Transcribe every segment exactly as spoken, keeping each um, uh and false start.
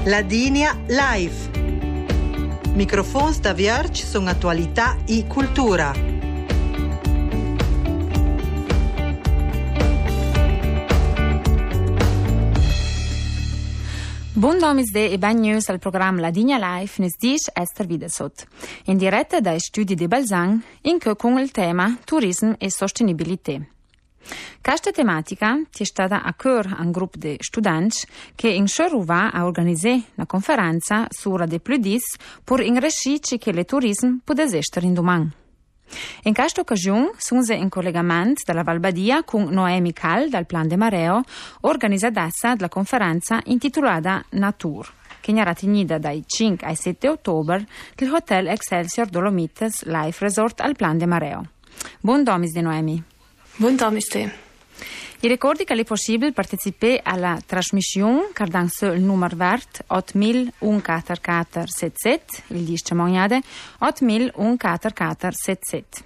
Ladinia Live. Microfons da Vierge sono attualità e cultura. Buon domisde e ben news al programma Ladinia Live nes dish Esther Videsot. In diretta dai studi di Balzan, in che con il tema Turismo e Sostenibilità. Questa tematica è stata a cœur un gruppo di studenti che in Cheruva ha organizzato una conferenza sulla de Pludis per ingrescici che il turismo può essere in domani. In questa occasione sono in collegamento dalla Val Badia con Noemi Cal dal Plan de Mareo, organizzatessa della conferenza intitolata Natur, che sarà tenuta dai cinque ai sette ottobre del Hotel Excelsior Dolomites Life Resort al Plan de Mareo. Buon domis di Noemi. Buon domis di. I ricordi che è possibile partecipare alla trasmissione cardando il numero vert otto mille quattordici settantasette, il dice mognade otto mille quattordici settantasette.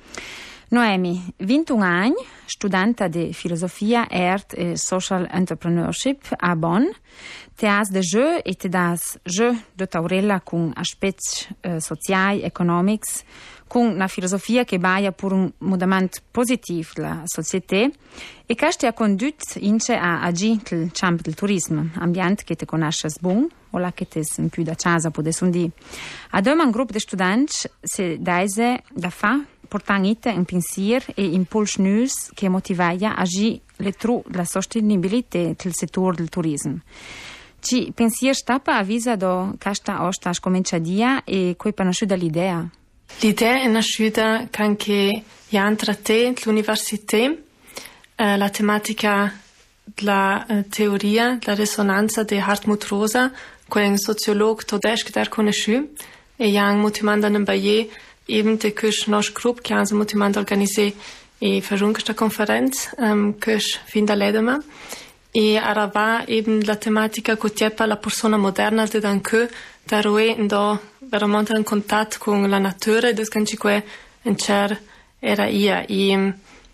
Noemi, ventuno anni, studenta di filosofia, art e social entrepreneurship a Bonn. Te has de jeu e te das jeu de taurella con aspetti eh, sociali, economici, con una filosofia che baia per un mudamento positivo della società e che ti ha condotto ince a agire nel campo del turismo, ambiente che ti conosci bene o la che ti è più da casa, può essere dire. Ad un gruppo di studenti si daise da fa portando un pensiero e impulso news che motivava a agire le tru della sostenibilità del settore del turismo. Ci pensier stappa avvisa do questa osta comincia dia e coi nasciuta l'idea? L'idea è nasciuta anche tra te l'università, eh, la tematica della eh, teoria, della risonanza di Hartmut Rosa, che è un sociologo tedesco che è conosciuto, e yang motivando in Baie eben der Kirsch nostro gruppo che hanno motivando organizzare e fare questa conferenza, um, Kirsch fin da Ledema. E arriva eben la tematica che tiene la persona moderna di Danke, da roe do veramente in contatto con la natura, e che è in cer era io. E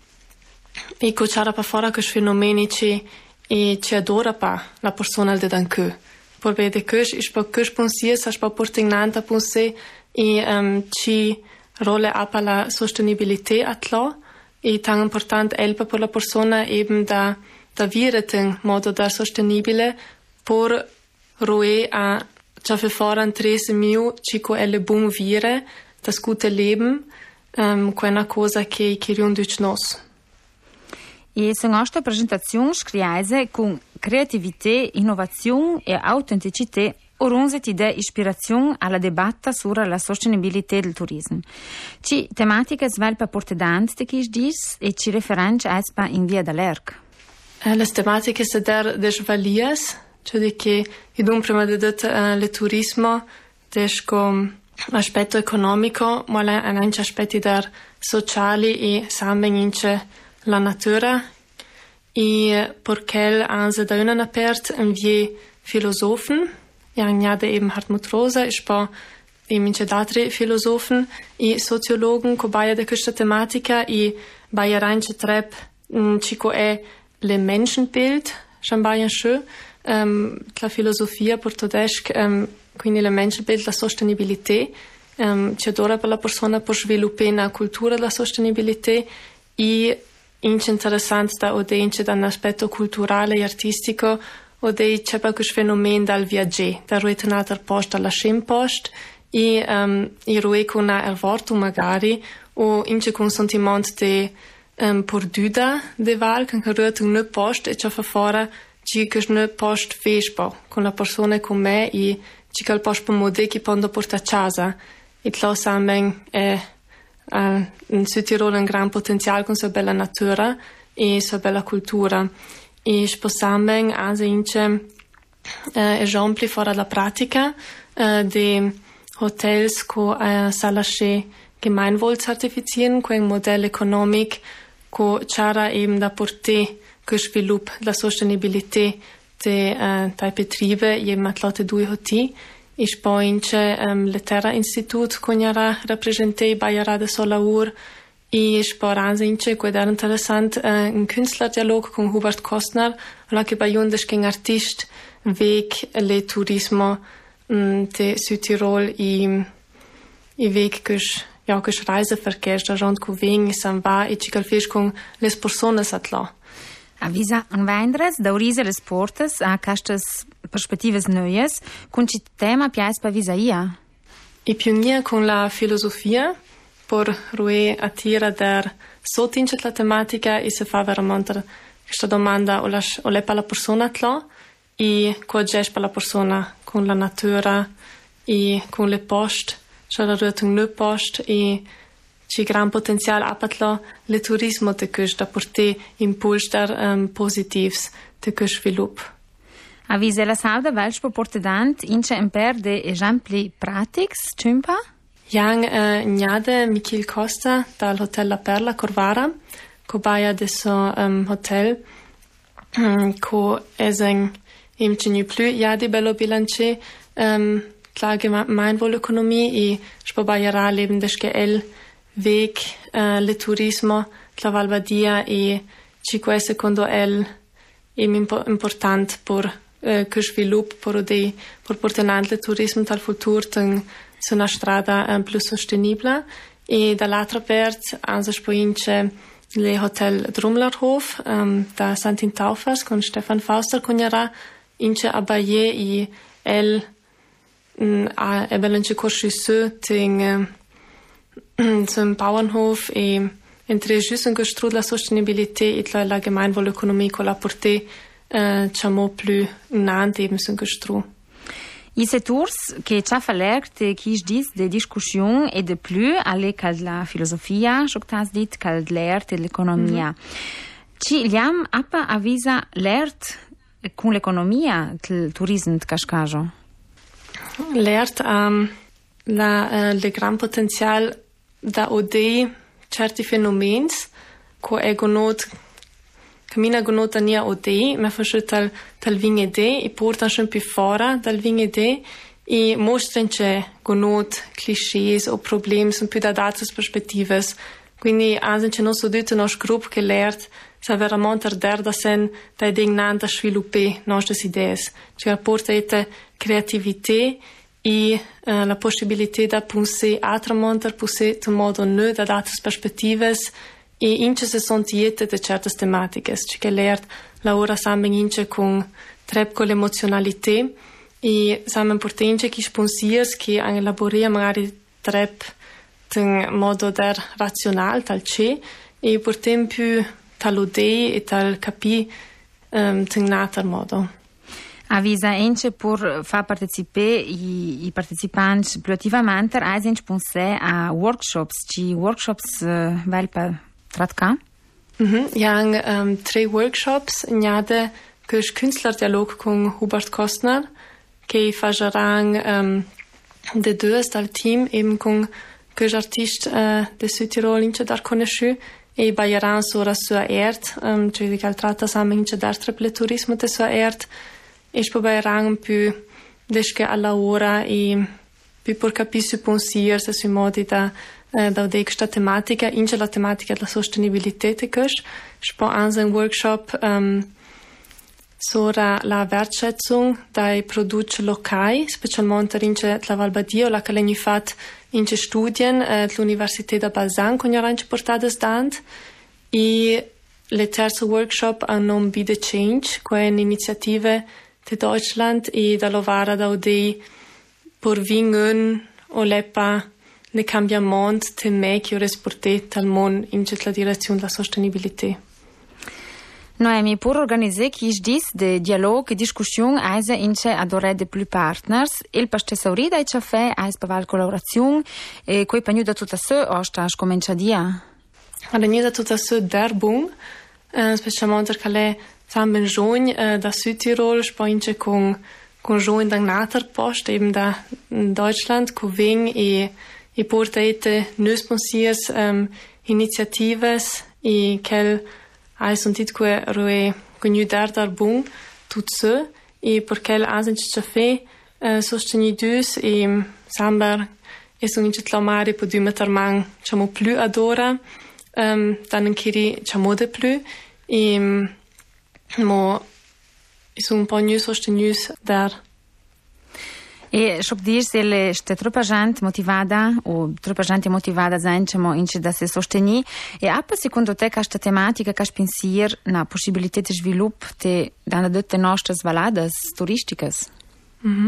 e che c'era per fare questi fenomeni che e ci adora pa la persona di Danke. Per vedere che è per che pensiero, è per portare in ante pensare e um, ci rolle a per la sostenibilità a tlo, e tan importante è per la persona eben da da vivere in modo da sostenibile per roe a ciò che faranno tre mio cico è le buon vivere da scute leben um, che è una cosa che che riundic nos. E se nostra presentazione scrive con creatività, innovazione e autenticità orunzeti de ispirazione alla debatta sulla sostenibilità del turismo. Ci tematiche svelpa portedante di chi dis e ci referenze a espa in via dall'erc. Le tematiche se der des valias, cioè che idun prima di tutto uh, il turismo des com aspetto economico, ma anche aspetti der sociali e samben ince la natura e perché anse da una apert in vie filosofen, ja gnade eben Hartmut Rosa, ich pa eben ince d'altri filosofen e sociologen co baia de questa tematica e baia reince trep cico è le Menschenbild, Chambayan schön, um, la filosofia portodesca, um, quindi le Menschenbild, la sostenibilità, um, ci adora per la persona per sviluppare una cultura della sostenibilità e ince interessante da odenche da un aspetto culturale e artistico ode c'è per questo fenomeno dal viaggiare, da ruete un altro posto alla scempost e um, e ruete con una ervorto magari o ince con sentimento di Um, perduta de val, che rührt un ne post e ci fa fora ci che ne post vespo con la persona con me e ci che il post per mode che pondo porta a casa e lo samben è uh, in Südtirol un gran potenziale con sua bella natura e sua bella cultura e sposamben anche ince uh, esempi fora la pratica uh, de hotels co uh, salasce Gemeinwohl zertifizieren, con un modello economico che c'era eben da portare che sviluppo la sostenibilità de uh, dai betriebe eben atlote due hoti e poi c'è um, le Terra Institut che era rappresentato Bayara de Solaur e sporanza ince que era interessant uh, un Künstlerdialog con Hubert Kostner, la che baiundes che un artist weg le turismo um, de Südtirol i i weg kus ja kus Reiseverkehr da rond ku wegen san va e ci calfisch con les personas atla. Avisa un vendres da urise les portes a castas perspectives neues con ci tema piais pa visaia. I pionier con la filosofia por rue attira der sotince la tematica e se fa veramente questa domanda o la o le pa la persona atla e co ges pa la persona con la natura e con le post c'è la rue un post e ci gran potenzial apatlo le turismo te kus da porte impuls der um, positivs te kus svilup. Avise la sauda welch portedant ince imper de exempli pratics tümpa? Yang uh, njade Michil Costa dal Hotel La Perla Corvara, ko baia de so um, hotel um, ko esen im cinu plu jadi bello bilance um, klage Gemeinwohlökonomie i spobaiera leben deske el weg uh, le turismo la Valbadia e ci que secondo el im impo- important por uh, che svilup por de por portenant le turismo tal futur ten su una strada um, più sostenibile e dall'altra parte anche spoince le hotel Drumlerhof um, da Sant'Intaufers con Stefan Fauster coniera ince abaye i el um, a ebelence corsi su ting um, zum Bauernhof e entre juste un gestrud la sostenibilité et la, la Gemeinwohlökonomie con la portée uh, ciamo più nant eben sun gestrud. I seturs che ci ha falert che dis de discussion e de plus alle cal la filosofia, jo t'has dit cal l'ert e l'economia. Mm-hmm. Ci liam appa avisa l'ert con l'economia il turismo de cascajo. L'ert um, la uh, le gran potenzial da ode certi fenomens co ego not Camina gonota nia ode, ma fasce tal tal vinge de e porta schon più fora dal vinge de e mostrance gonot clichés o problems un più da datas perspectives. Quindi anche non so detto nos gruppo che lert sa veramente der da sen da dignanta svilupper nostre idees. Cioè porta ete creativité e uh, la possibilità da penser autrement, penser in modo nou da datas perspectives. E ince se sunt iete de certas tematiches, ci che lert la ora samen ince con trep con l'emozionalità e samen porte ince chi sponsiers che an elaboria magari trep in modo der razional tal ce e portem più tal ode e tal capi um, in nater modo. Avisa ince pur fa partecipe i, i partecipanti più attivamente a ince pense a workshops, ci workshops uh, vel per Tratka? Mhm, jang um, tre workshops njade kus Künstlerdialog con Hubert Kostner che fagerang um, de deux dal team eben con kus artist uh, de Südtirol ince dar conosciu e baieran sora sua ert um, cioè di cal tratta samen ince dar triple turismo de sua ert e spo baieran più desche alla ora e più por capissu pensiers sui modi da da de questa tematica ince la tematica della sostenibilità te kus spo anche un workshop um, sora la wertschätzung dai prodotti locali specialmente ince la Valbadia la che l'hanno fatto ince studien uh, l'università da Balzan con orange portadas dant e le terzo workshop a non be the change che è un'iniziativa di Deutschland e da Lovara da ode por vingen o lepa le cambiamento te me che resporte tal mon in la direzione della sostenibilità. Noemi, pour organiser qui je dis de dialogue et discussion aise ince adore de plus partners il pastesauri da ci fa ais paval collaborazione e coi pagnu da tutta se osta comincia dia. Alla da tutta se der bun uh, specialmente che le samben giugn uh, da Südtirol spoince con con giugn da nater post eben da Deutschland co ving e e porta ete neus pensiers um, initiatives e quel hai sentit que roe conu dar dar bun tout ce e per quel asen ci fe uh, sostenidus e samber e so ince tlamare po du meter man chamo plus adora um, dan kiri chamode plus e mo sono un po' più sostenuti da. E shop dir se le ste troppa gente motivata o troppa gente motivata zancemo in da se sosteni e appa secondo te questa tematica che pensier na possibilità di sviluppo te dana tutte nostre valadas turisticas. Mhm.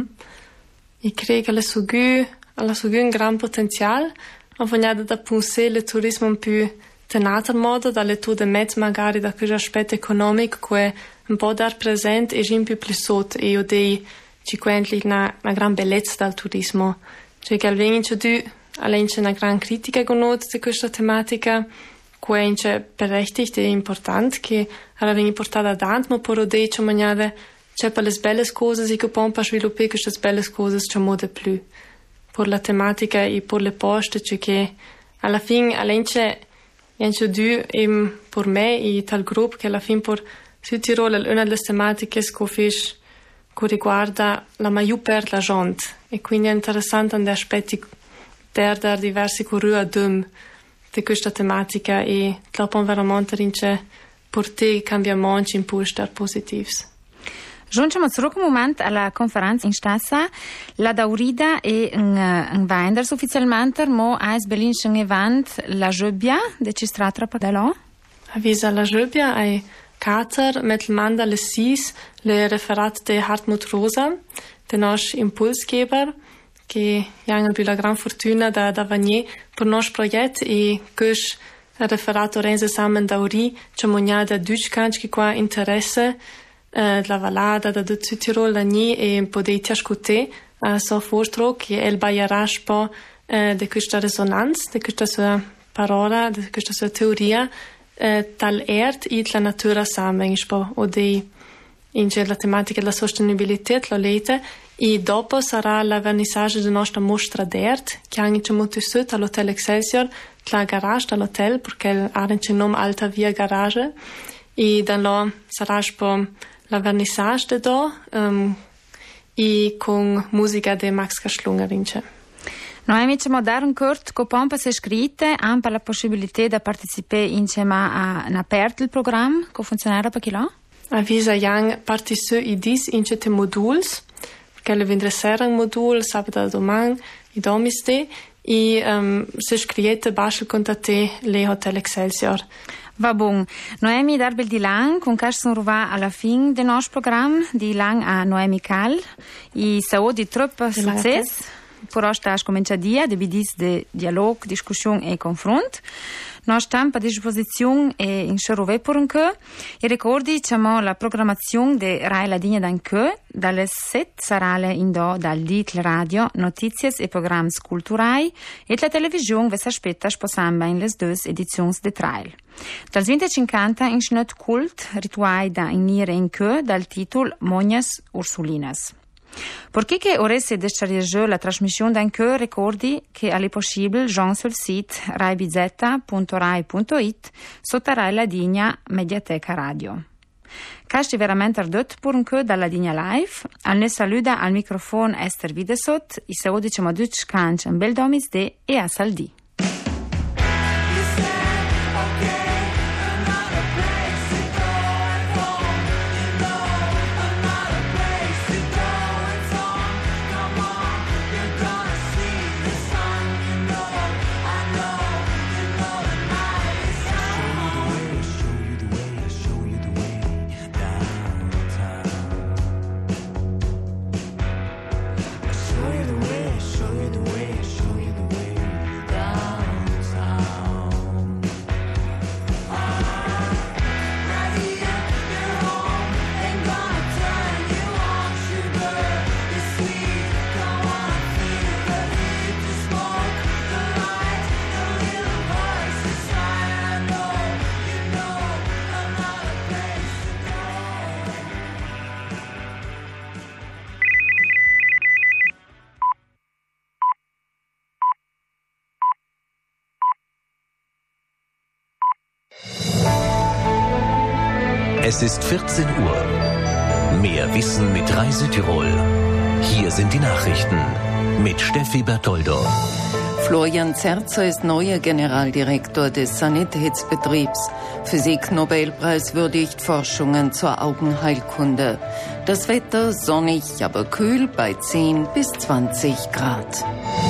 E credo che la sugu alla sugu un gran potenziale, ma vogliamo da pensare il turismo un più tenato modo dalle tue de mezzo magari da questo aspetto economico che un po' dar presente e un più più sotto e io dei ci quentli una, una gran bellezza del turismo. Cioè che almeno c'è tu, almeno c'è una gran critica conosciuta di questa tematica, che è berechtigt e importante, che viene portata avanti, ma per ode c'è maniera, c'è per le belle cose, e che poi per sviluppare queste belle cose c'è modo più. Per la tematica e per le poste, cioè che alla fine, almeno c'è, c'è tu, e per me e tal gruppo, che alla fine per Südtirol è una delle tematiche che che riguarda la maggior per la gente e quindi è interessante andare aspetti der der diversi currua dum di questa tematica e trovo veramente rince portare cambiamenti in poster positivi. Giunciamo zurück un moment alla conferenza in Stassa. La Daurida e un Weinders ufficialmente, mo a Berlin un event la Gebbia, de ci stratra per là? Avvisa la Gebbia è Kater mit Manda le Sis, le referat de Hartmut Rosa, de nos impulsgeber, che hanno più la gran fortuna da da vanier per nos progetto e che referat orense samen dauri, c'è mognada Deutschkanch che qua interesse eh, la valada da de Südtirol la ni e podei tiascute a so fortro che el bayarash po eh, de questa resonanza, de questa sua parola, de questa sua teoria Eh, tal erd e la natura sammen o dei in la tematica della sostenibilità la lete e dopo sarà la vernissage della nostra mostra d'erd che anche molto sotto all'hotel Excelsior la garage dell'hotel perché ha il nome Alta Via Garage e da là sarà la vernissage de do um, e con musica di Max Kaschlungerin. Noi abbiamo dato un corto che pompa si è scritta anche la possibilità di partecipare insieme a un aperto il programma che funzionerà per chi là? Avvisa yang partecipare i dis in certe modules perché le vendrà sera un modul sabato e domani i domiste e um, si scrivete basta contattare le Hotel Excelsior. Va buon. Noemi Darbel di Lang, con cui sono arrivati alla fine del nostro programma, di Lang a Noemi Cal, e sau di troppo successo. Per oggi sta cominciato dia de bidis de dialog, discussione e confronto. Noi stiamo a disposizione e in Cherove per un che. E ricordi diciamo la programmazione de Rai La Digna d'an che dalle sette sarà in do dal dit la radio, notizie e programmi culturali e la televisione vi si aspetta sposamba in le due edizioni de trail. Dal venticinquanta in schnot cult rituai da inire in che dal titolo Mognas Ursulinas. Perché che ora si descharge la trasmissione d'un che ricordi che è possibile già sul sito rai bizetta punto rai punto it sotto Rai La Digna Mediateca Radio. Casti veramente ardot per un che dalla Digna Live, al ne saluda al microfono Esther Videsot, i se diciamo duc canc un bel domis de e a saldi. Es ist vierzehn Uhr. Mehr Wissen mit Reise Tirol. Hier sind die Nachrichten mit Steffi Bertoldo. Florian Zerzer ist neuer Generaldirektor des Sanitätsbetriebs. Physik-Nobelpreis würdigt Forschungen zur Augenheilkunde. Das Wetter sonnig, aber kühl bei zehn bis zwanzig Grad.